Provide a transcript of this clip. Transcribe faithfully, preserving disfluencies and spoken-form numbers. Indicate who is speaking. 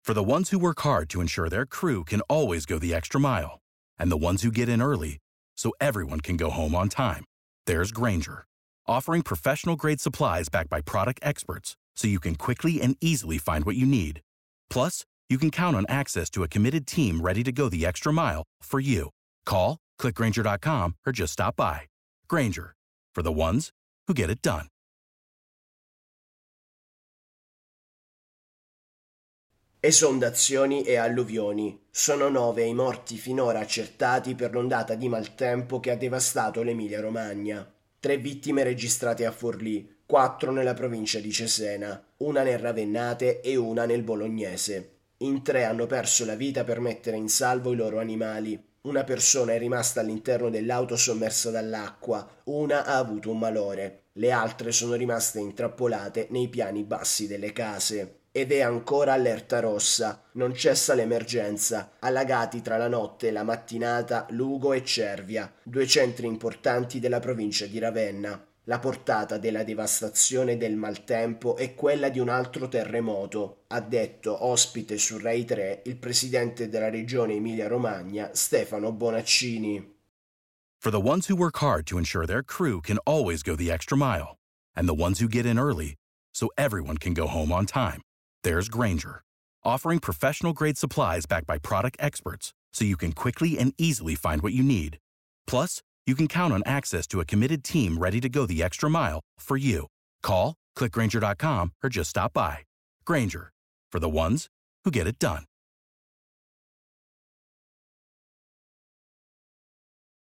Speaker 1: For the ones who work hard to ensure their crew can always go the extra mile, and the ones who get in early so everyone can go home on time, there's Grainger, offering professional-grade supplies backed by product experts so you can quickly and easily find what you need. Plus, you can count on access to a committed team ready to go the extra mile for you. Call, click Grainger dot com, or just stop by. Grainger, for the ones who get it done.
Speaker 2: Esondazioni e alluvioni. Sono nove i morti finora accertati per l'ondata di maltempo che ha devastato l'Emilia-Romagna. Tre vittime registrate a Forlì, quattro nella provincia di Cesena, una nel Ravennate e una nel Bolognese. In tre hanno perso la vita per mettere in salvo i loro animali. Una persona è rimasta all'interno dell'auto sommersa dall'acqua, una ha avuto un malore. Le altre sono rimaste intrappolate nei piani bassi delle case. Ed è ancora allerta rossa, non cessa l'emergenza, allagati tra la notte e la mattinata Lugo e Cervia, due centri importanti della provincia di Ravenna. La portata della devastazione del maltempo è quella di un altro terremoto, ha detto ospite su Rai tre il presidente della regione Emilia-Romagna Stefano Bonaccini.
Speaker 1: For the ones who work hard to ensure their crew can always go the extra mile, and the ones who get in early so everyone can go home on time, there's Grainger, offering professional-grade supplies backed by product experts so you can quickly and easily find what you need. Plus, you can count on access to a committed team ready to go the extra mile for you. Call, click Grainger dot com, or just stop by. Grainger, for the ones who get it done.